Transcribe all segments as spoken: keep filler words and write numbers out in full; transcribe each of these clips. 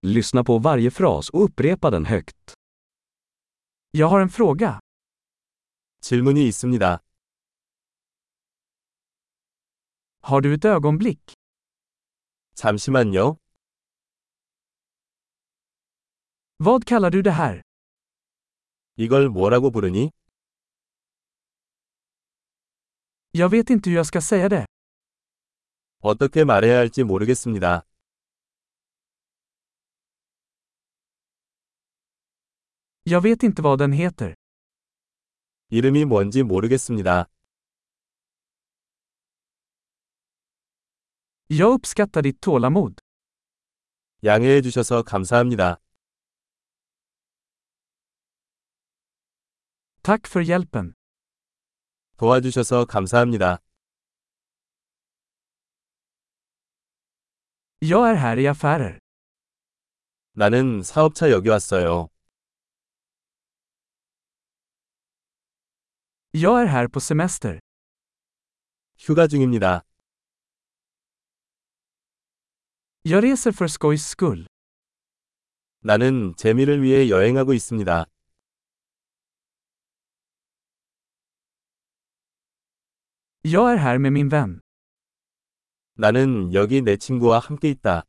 Lyssna på varje fras och upprepa den högt. Jag har en fråga. 질문이 있습니다. Har du ett ögonblick? 잠시만요. Vad kallar du det här? 이걸 뭐라고 부르니? Jag vet inte hur jag ska säga det. 어떻게 말해야 할지 모르겠습니다. Jag vet inte vad den heter. 이름이 뭔지 모르겠습니다. Jag uppskattar ditt tålamod. 양해해 주셔서 감사합니다. Tack för hjälpen. 도와주셔서 감사합니다. Jag är här i affärer. 나는 사업차 여기 왔어요. Jag är här på semester. 휴가 중입니다. Jag reser för skojs skull. 나는 재미를 위해 여행하고 있습니다. Jag är här med min vän. 나는 여기 내 친구와 함께 있다.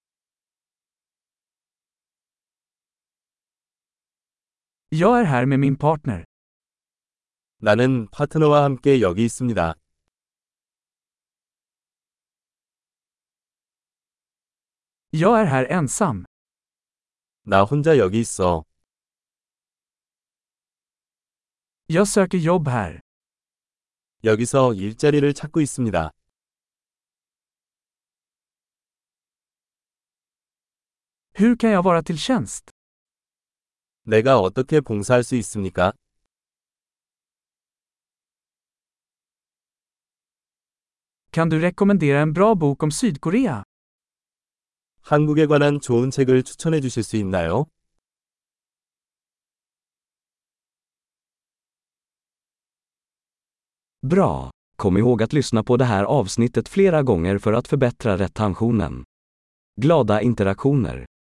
Jag är här med min partner. 나는 파트너와 함께 여기 있습니다. Jag är här ensam. 나 혼자 여기 있어. Jag söker jobb här. 여기서 일자리를 찾고 있습니다. Hur kan jag vara till tjänst? 내가 어떻게 봉사할 수 있습니까? Kan du rekommendera en bra bok om Sydkorea? 한국에 관한 좋은 책을 추천해 주실 수 있나요? Bra! Kom ihåg att lyssna på det här avsnittet flera gånger för att förbättra retentionen. Glada interaktioner!